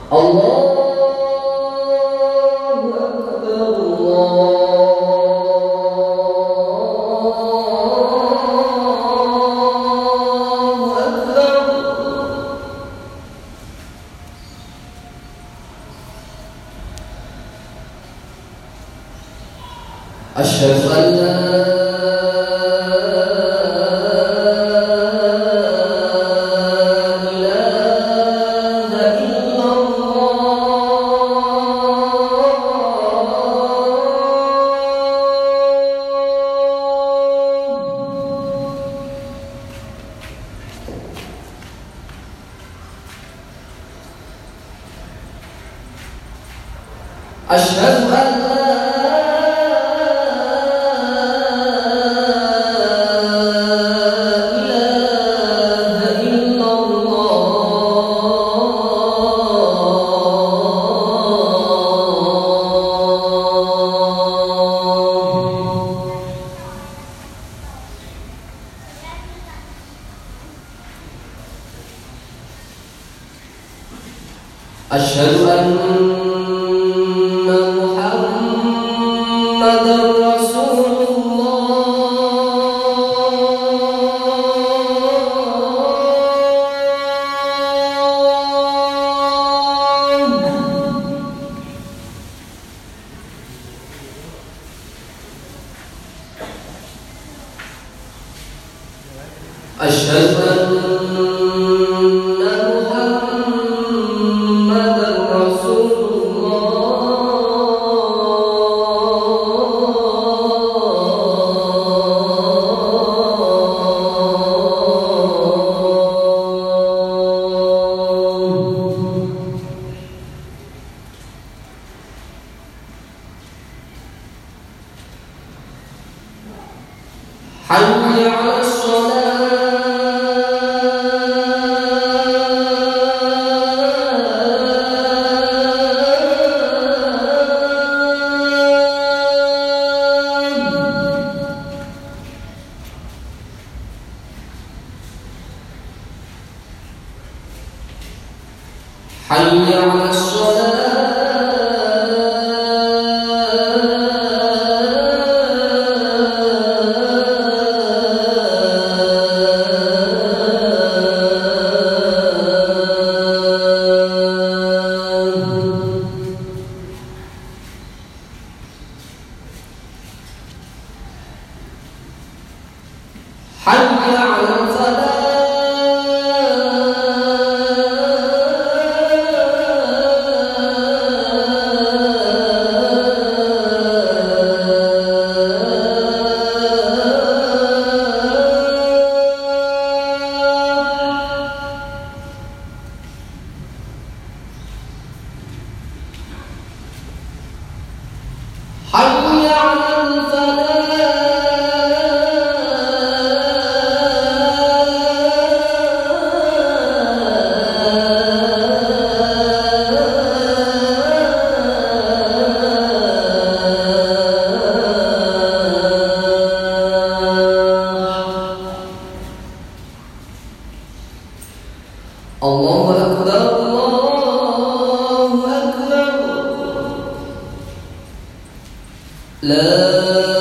أشهد أن لا أشهد أن لا أشهد أن محمدًا رسول الله. أشهد أن حي على الصلاة. حي على الصلاة. حي على الفلاح. حي على الفلاح. الله أكبر الله أكبر. لا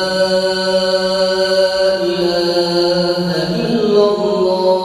إله إلا الله.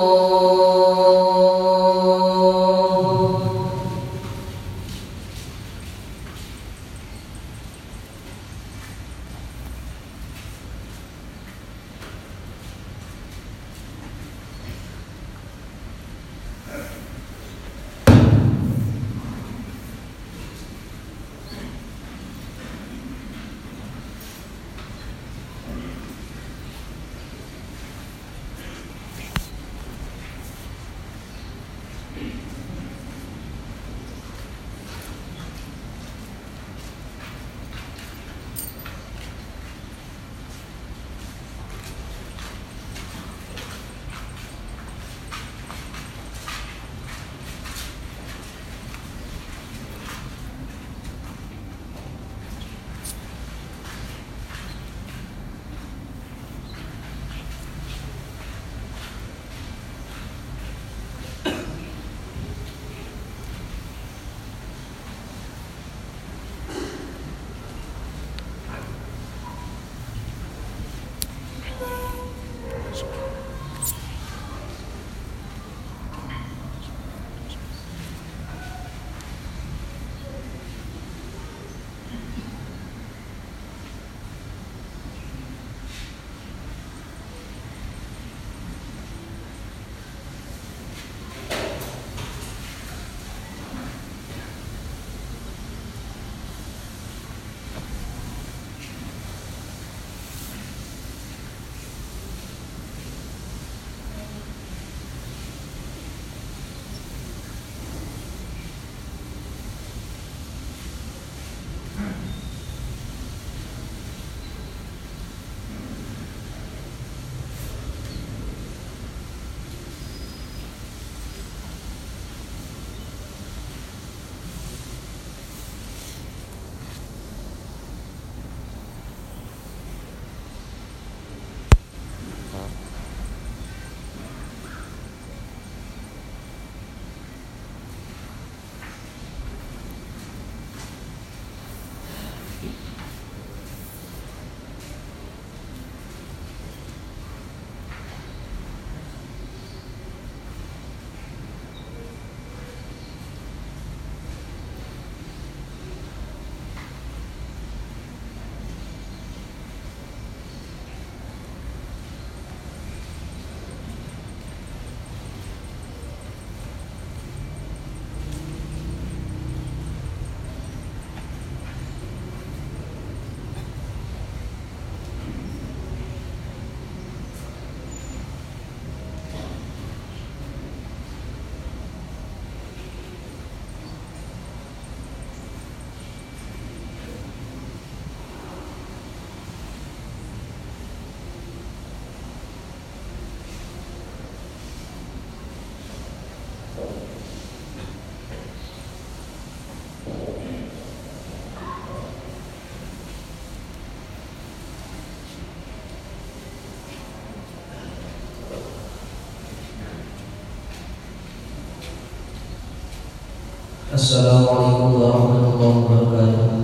Assalamualaikum warahmatullahi wabarakatuh.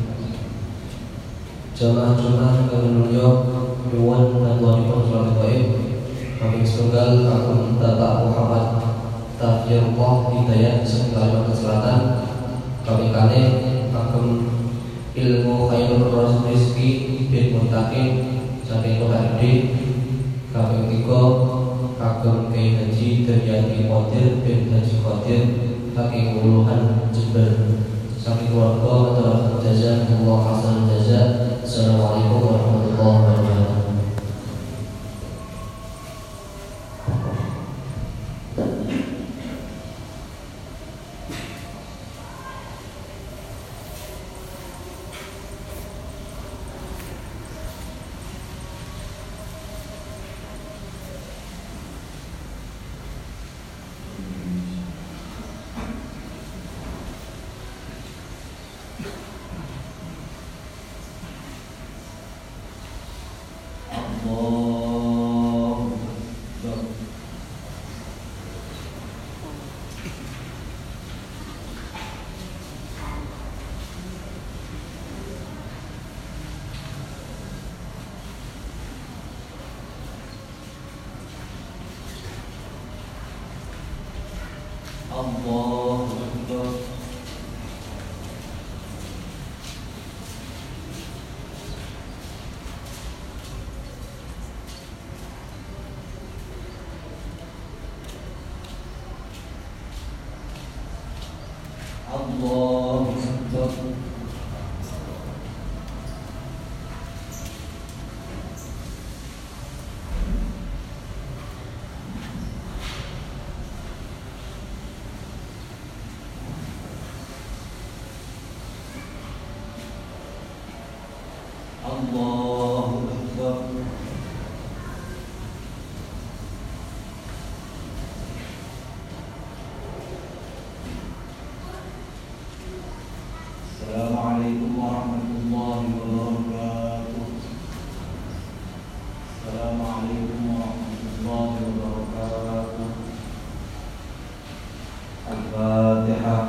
Jamaah Jumat kami nunjuk Yuwan dan Tuhanipun Sholat Baik kami setunggal Agung Bapak Muhammad Tafiyullah Hidayat Seng Kalimantan Selatan. Kami kali Agung Ilmu Khairul Rizki bin Muntaqim saking Kota Gede. Kami tiga Agung Kiai Haji Daryati Qadir bin Haji Qadir saking Wuluhan Jember. Saking keluarga atau jazakumullah hasanal jazaa. Assalamualaikum warahmatullahi wabarakatuh. Assalamualaikum warahmatullahi wabarakatuh. Assalamualaikum warahmatullahi wabarakatuh. Al-Fatihah.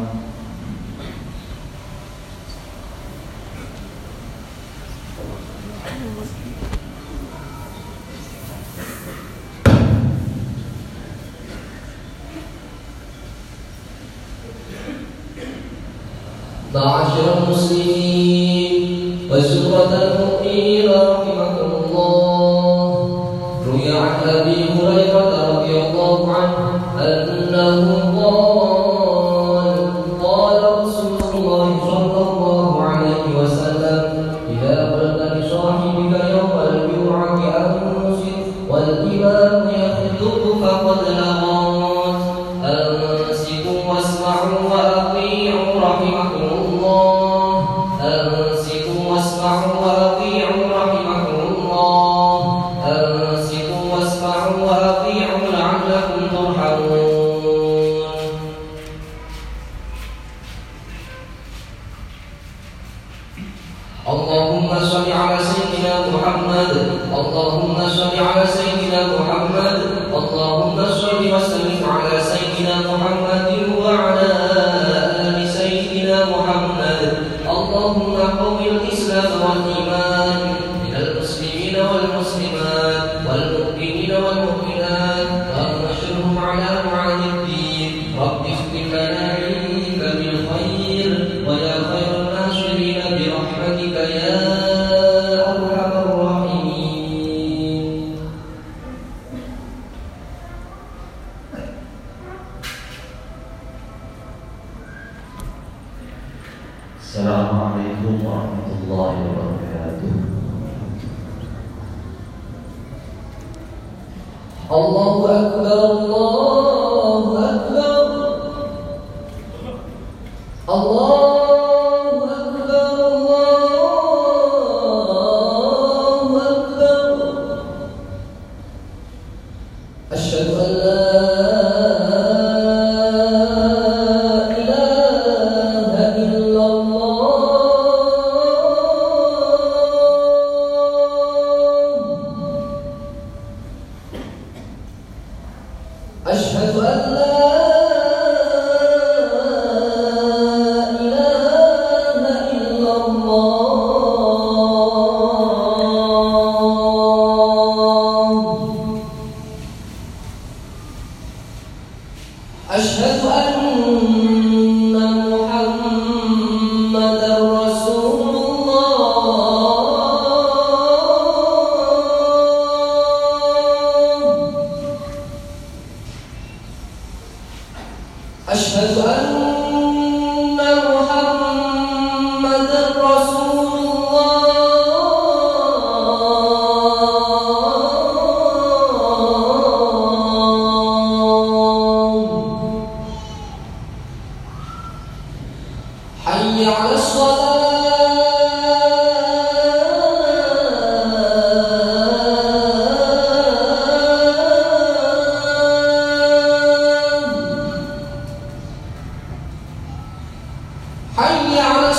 Ma'asyiral muslimin wa suratan mu'minin rahimakumullah. Ruya an Abi Hurairah radhiyallahu anhu annahu qala Rasulullah sallallahu alaihi wasallam idza qulta li sahibika yawmal jum'ati ansit wal imam yakhutubu faqad laghat ansitu wasma'u wa ati'u rahimakumullah. Ansitu wasma'u wa ati'u rahimakumullah. Ansitu wasma'u wa ati'u la'allakum turhamun. Allahumma shalli ala sayyidina Muhammad. Allahumma shalli ala sayyidina Muhammad. Allahumma shalli wa sallim ala sayyidina Muhammadin wa ala ali sayyidina Muhammad. Allahumma qawwil Islam wal iman minal muslimina wal muslimat wal mu'minina wal mu'minat wa anshurhum ala mu'anid din. Rabbi ighfir lana innaka bil khair wa ya khairan nasirin bi rahmatika ya arhamar rahimin. Assalamualaikum warahmatullahi wabarakatuh. Allahu akbar, Allahu akbar. Allahu akbar, Allahu akbar. Asyhadu an la ilaha illallah. Asyhadu an la أشهد أن محمدا رسول الله. أشهد أن محمدا رسول الله. حي على حي على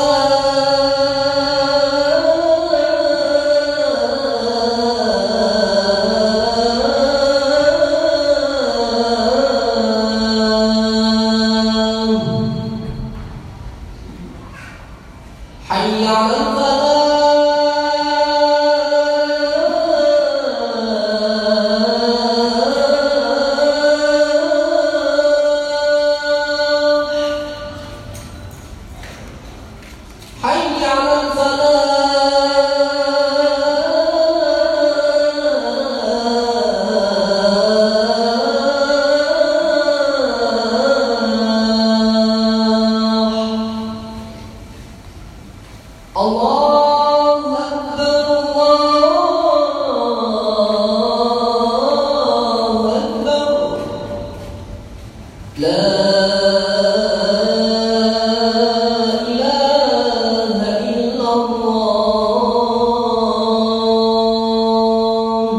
حي على حي على الله أكبر الله أكبر لا إله إلا الله.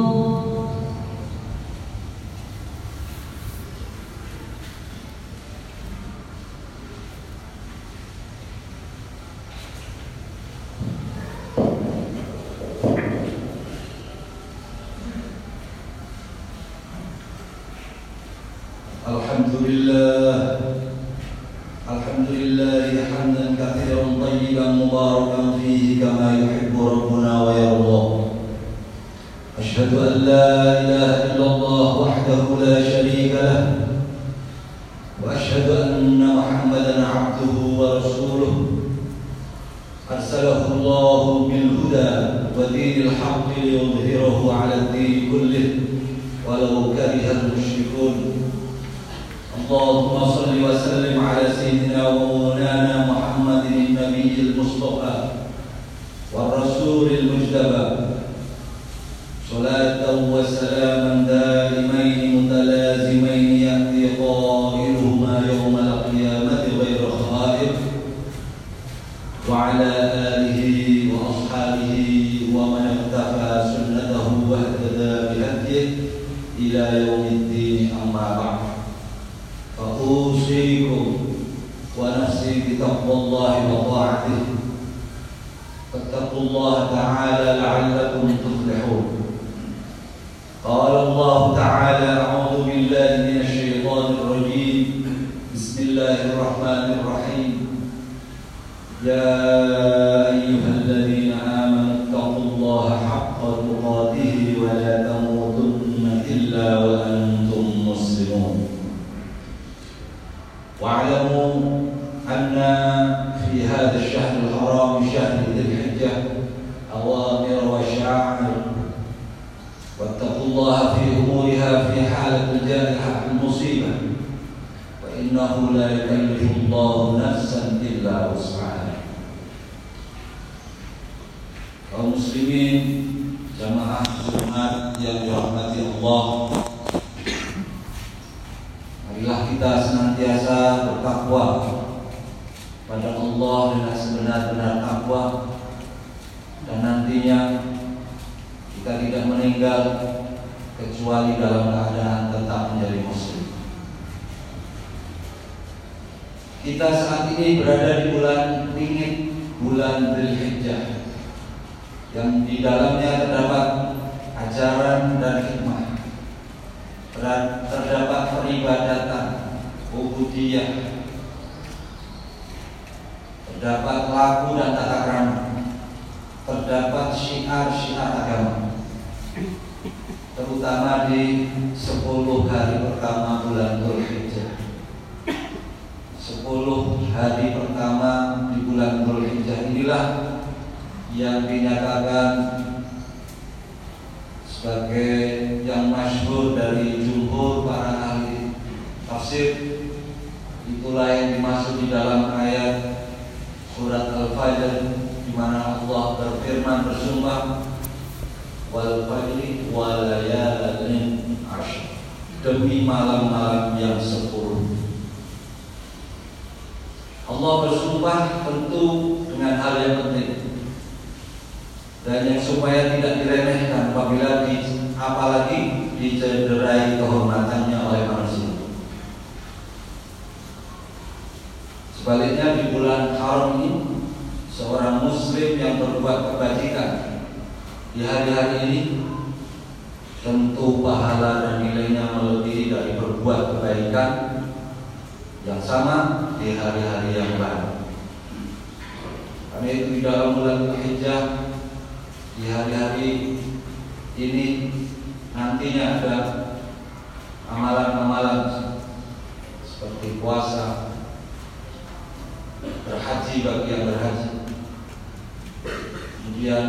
الحمد لله حمدا كثيرا طيبا مباركا فيه كما يحب ربنا ويرضى. أشهد أن لا إله إلا الله وحده لا شريك له، وأشهد أن محمدا عبده ورسوله أرسله الله بالهدى ودين الحق ليظهره على الدين كله ولو كره المشركون. اللهم صل وسلم على سيدنا ومولانا محمد النبي المصطفى والرسول المجتبى، صلاة وسلاما دائمين متلازمين يأتي قائلهما يوم القيامة غير خائف، وعلى آله وأصحابه ومن اقتفى سنته واهتدى بهديه إلى يوم الدين. أما بعد، فأوصيكم ونفسي بتقوى الله وطاعته، فاتقوا الله تعالى لعلكم تفلحون. قال الله تعالى: أعوذ بالله من الشيطان الرجيم، بسم الله الرحمن الرحيم. يا أيها الذين آمنوا اتقوا الله حق تقاته ولا تموتن إلا وأنتم مسلمون. واعلموا أن في هذا الشهر الحرام، شهر ذي الحجة، أوامر وشعائر، واتقوا الله في أمورها في حالة الجائحة المصيبة، وإنه لا يكلف الله نفسا إلا وسعها. Kaum muslimin, jamaah Jumat yang dirahmati Allah, marilah kita senantiasa bertakwa pada Allah dengan sebenar-benar takwa, dan nantinya kita tidak meninggal kecuali dalam keadaan tetap menjadi muslim. Kita saat ini berada di bulan dingin, bulan Dzulhijjah, yang di dalamnya terdapat ajaran dan hikmah, terdapat peribadatan, ubudiyah, terdapat laku dan tata krama, terdapat syiar-syiar agama, terutama di 10 hari pertama bulan Dzulhijjah. hari pertama di bulan Dzulhijjah inilah yang dinyatakan sebagai yang masyhur dari jumhur para ahli tafsir. Itulah yang dimaksud di dalam ayat surat Al-Fajr, di mana Allah berfirman bersumpah, wal fajri wa layalin ashr, demi malam-malam yang 10. Allah bersumpah tentu dengan hal yang penting dan yang supaya tidak diremehkan apabila apalagi dicederai kehormatannya oleh manusia. Sebaliknya di bulan haram ini, seorang muslim yang berbuat kebajikan di hari-hari ini tentu pahala dan nilainya melebihi dari berbuat kebaikan yang sama di hari-hari yang lain. Karena itu di dalam bulan Dzulhijjah, di hari-hari ini nantinya ada amalan-amalan seperti puasa, berhaji bagi yang berhaji, kemudian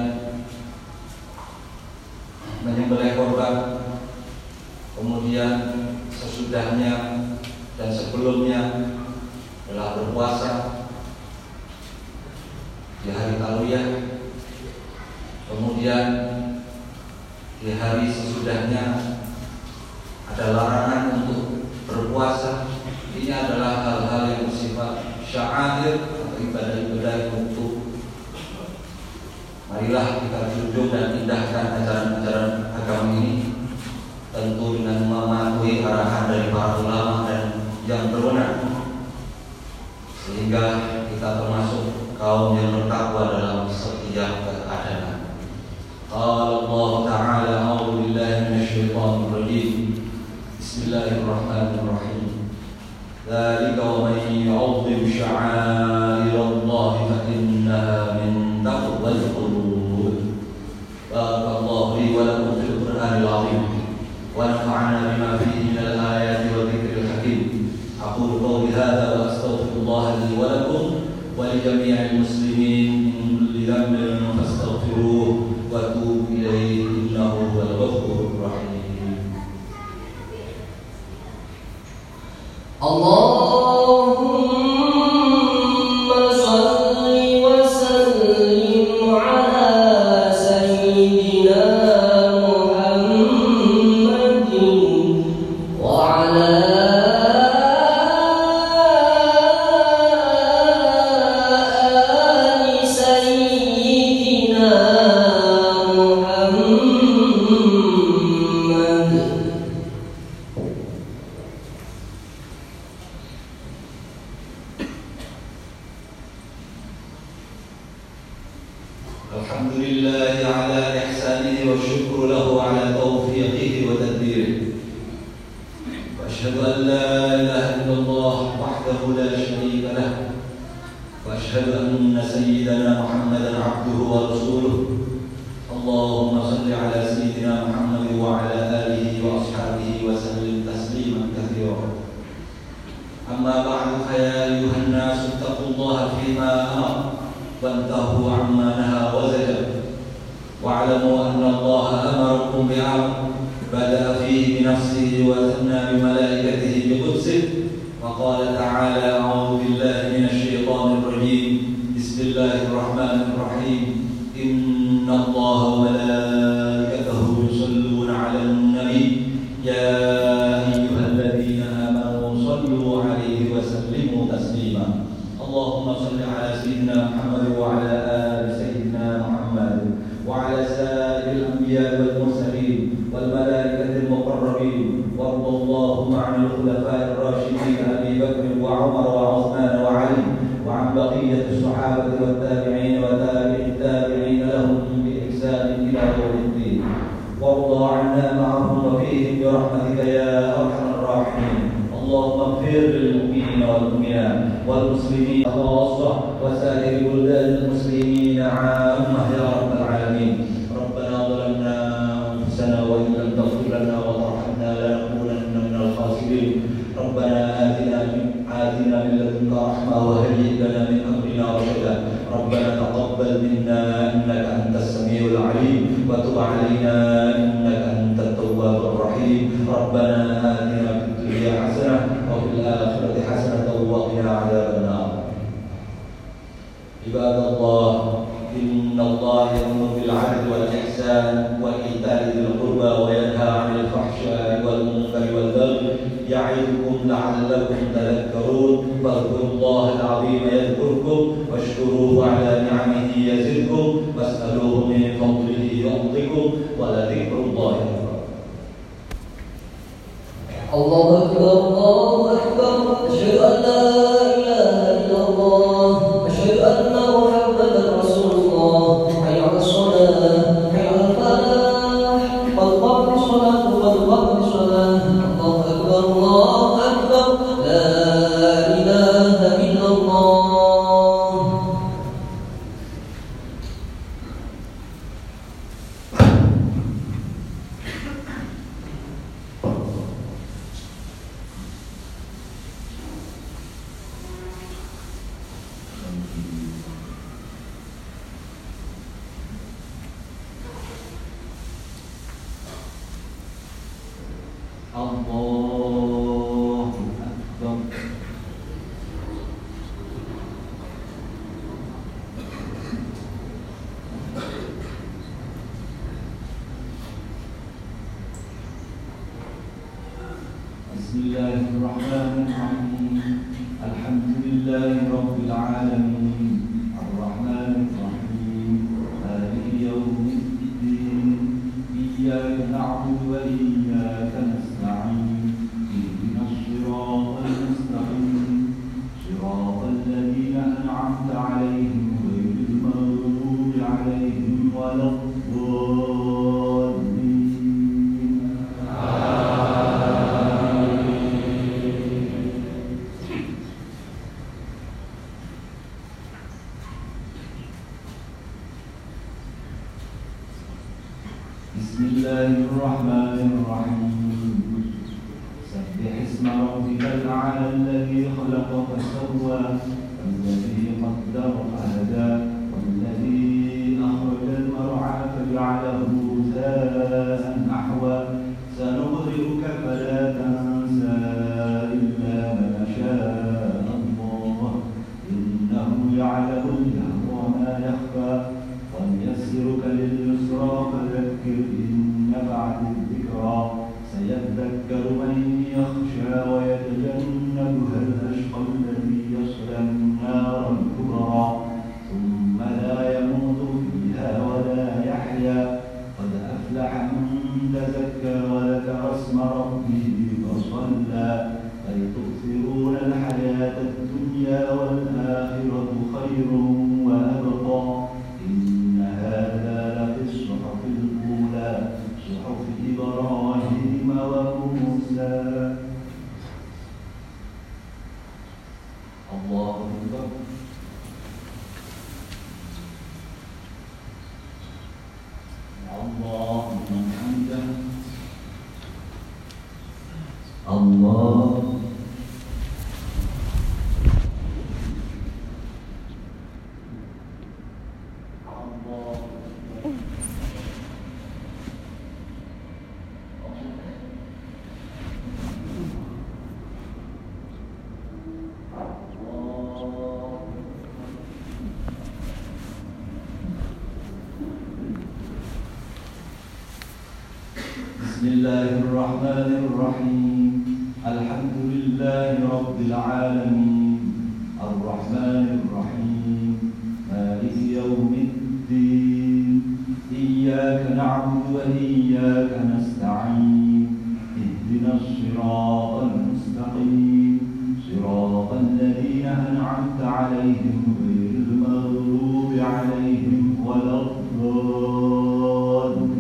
menyembelih korban, kemudian sesudahnya dan sebelumnya adalah berpuasa di hari Tarwiyah, kemudian di hari sesudahnya ada larangan untuk berpuasa. Ini adalah hal-hal yang bersifat sya'air atau ibadah-ibadah untuk marilah kita junjung dan indahkan ajaran-ajaran agama ini, tentu dengan mematuhi arahan dari para ulama dan yang berwenang, sehingga kita termasuk kaum yang bertakwa dalam setiap keadaan. Qala Allah Ta'ala, a'udzu billahi minasyaitonir rajim. Bismillahirrahmanirrahim. Dzalika wa man yu'azzim sya'airallahi fa innaha min taqwal qulub. Barakallahu li wa lakum fil Qur'anil 'azim wa nafa'ana bima fihi minal ayati wa dzikril hakim. Aqulu qawli hadza wa astaghfirullaha li wa lakum wa li jami'il muslimin min kulli dhanbin fastaghfiruhu wa tubu ilaihi innahu huwal ghafurur rahim. Allahumma shalli wa sallim ala sayyidina Muhammadin wa ala ali sayyidina Muhammad. Alhamdulillahi ala ihsanihi wa syukru lahu ala taufiqihi wa tadbirihi. Wa asyhadu an la ilaha illallah wahdahu la syarika lah. Wa asyhadu anna sayyidana Muhammadan abduhu wa rasuluh. Allahumma salli ala sayyidina Muhammad wa ala alihi wa ashabihi wa sallim tasliman katsira. Amma ba'du, fa ya ayyuhan nas ittaqullaha fima amara وانتهوا عما نهى وزجر واعلموا أن الله أمركم بعمل بدأ فيه بنفسه وثنى بملائكته بقدسه وقال تعالى أعوذ بالله من الشيطان الرجيم بسم الله الرحمن الرحيم إن الله وملائكته يصلون على النبي يا أيها الذين آمنوا صلوا عليه وسلموا تسليما اللهم صل على سيدنا محمد وعلى آل سيدنا محمد وعلى سائر الأنبياء والمرسلين والملائكة المقربين وارض اللهم عن الخلفاء الراشدين أبي بكر وعمر وعثمان وعلي وعن بقية الصحابة والتابعين وتابع التابعين لهم بإحسان إلى يوم الدين وارض عنا معهم وفيهم برحمتك يا أرحم الراحمين. اللهم اغفر للمؤمنين والمؤمنات والمسلمين خاصة وسائر بلدان المسلمين عامة يا رب العالمين. ربنا ظلمنا أنفسنا وإن لم تغفر لنا وترحمنا لنكونن من الخاسرين. ربنا آتنا من لدنك لدنك رحمة وهيئ لنا من أمرنا رشدا ربنا تقبل منا إنك أنت السميع العليم وتب علينا إنك أنت التواب الرحيم ربنا آتنا في الدنيا حسنة وفي الآخرة حسنة وقنا عذاب النار عباد الله إن الله يأمر بالعدل والإحسان وإيتاء ذي القربى وينهى عن الفحشاء والمنكر والبغي يعظكم لعلكم تذكرون فاذكروا الله العظيم يذكركم واشكروه على نعمه يزدكم واسألوه من فضله يعطكم ولذكر الله أكبر. الله أكبر الله أكبر أشهد أن لا إله إلا الله أشهد أن محمدا رسول الله حي على الصلاة حي على الفلاح قد قامت الصلاة قد قامت الصلاة الله أكبر لا إله إلا الله. Bismillahirrahmanirrahim. Alhamdulillahi rabbil alamin. Ar-Rahmanir-Rahim. Maliki yaumiddin. Iyyaka na'budu wa iyyaka nasta'in. Ihdinas siratal mustaqim. Siratal ladzina an'amta 'alaihim ghairil maghdubi 'alaihim waladdallin. Bismillahirrahmanirrahim. Sabbih isma rabbikal a'la alladhi khalaqa fasawwa walladhi qaddara fahada walladhi akhrajal mar'a faj'alahu ghutha'an ahwa sanuqri'uka fala tansa illa ma sha'a Allah innahu ya'lamul jahra wa ma yakhfa ونيسرك لليسرى فذكر إن نفعت الذكرى سيذكر من يخشى ويتجنبها الأشقى الذي يصلى النار الكبرى ثم لا يموت فيها ولا يحيا قد أفلح من تزكى وذكر اسم ربه فصلى بل تؤثرون الحياة الدنيا والآخرة خير وأبقى هذا لفي الصحف الأولى صحف إبراهيم وموسى. الله أكبر. الله لمن حمده. الله Bismillahirrahmanirrahim. Alhamdulillahi rabbil alamin. Ar-Rahmanir-Rahim. Maliki yaumiddin. Iyyaka na'budu wa iyyaka nasta'in. Ihdinas siratal mustaqim. Siratal ladzina an'amta 'alaihim ghairil maghdubi 'alaihim waladdallin.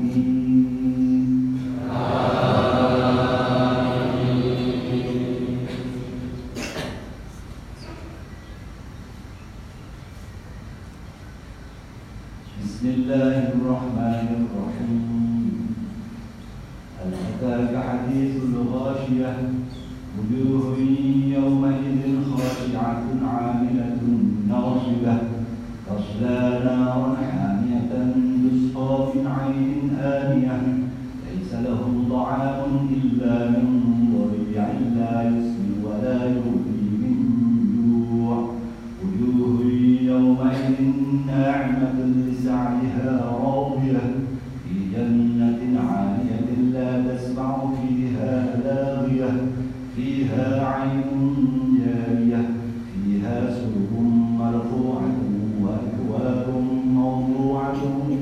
Bismillahirrahmanirrahim. Hal ataka hadithul ghashiyah wujuhun yawmaidhin khashiyah خاشعة عاملة ناصبة تصلى نارا حامية تسقى من عين آنية ليس لهم طعام إلا من ضريع لا يسمن ولا يغني من جوع وجوه يومئذ ناعمة لسعيها راضية في جنة عالية لا تسمع فيها لاغية فيها عين جارية فيها سرر مرفوعة وأكواب موضوعة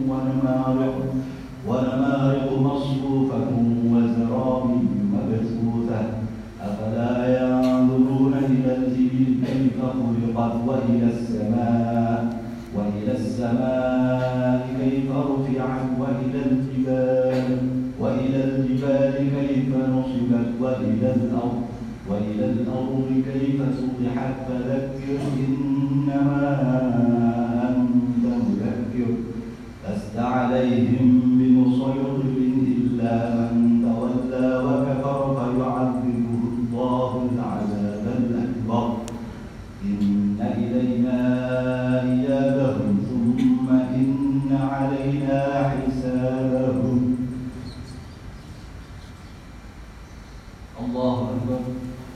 ونمارق مصفوفة وزرابي مبثوثة أفلا ينظرون إلى الإبل كيف خلقت وإلى السماء كيف رفعت وإلى الجبال كيف نصبت وإلى الأرض كيف سطحت فذكر إنما أنت مذكر لست عليهم بمسيطر إلا من تولى وكفر فيعذبه الله العذاب الأكبر إن إلينا إيابهم ثم إن علينا حسابهم الله أكبر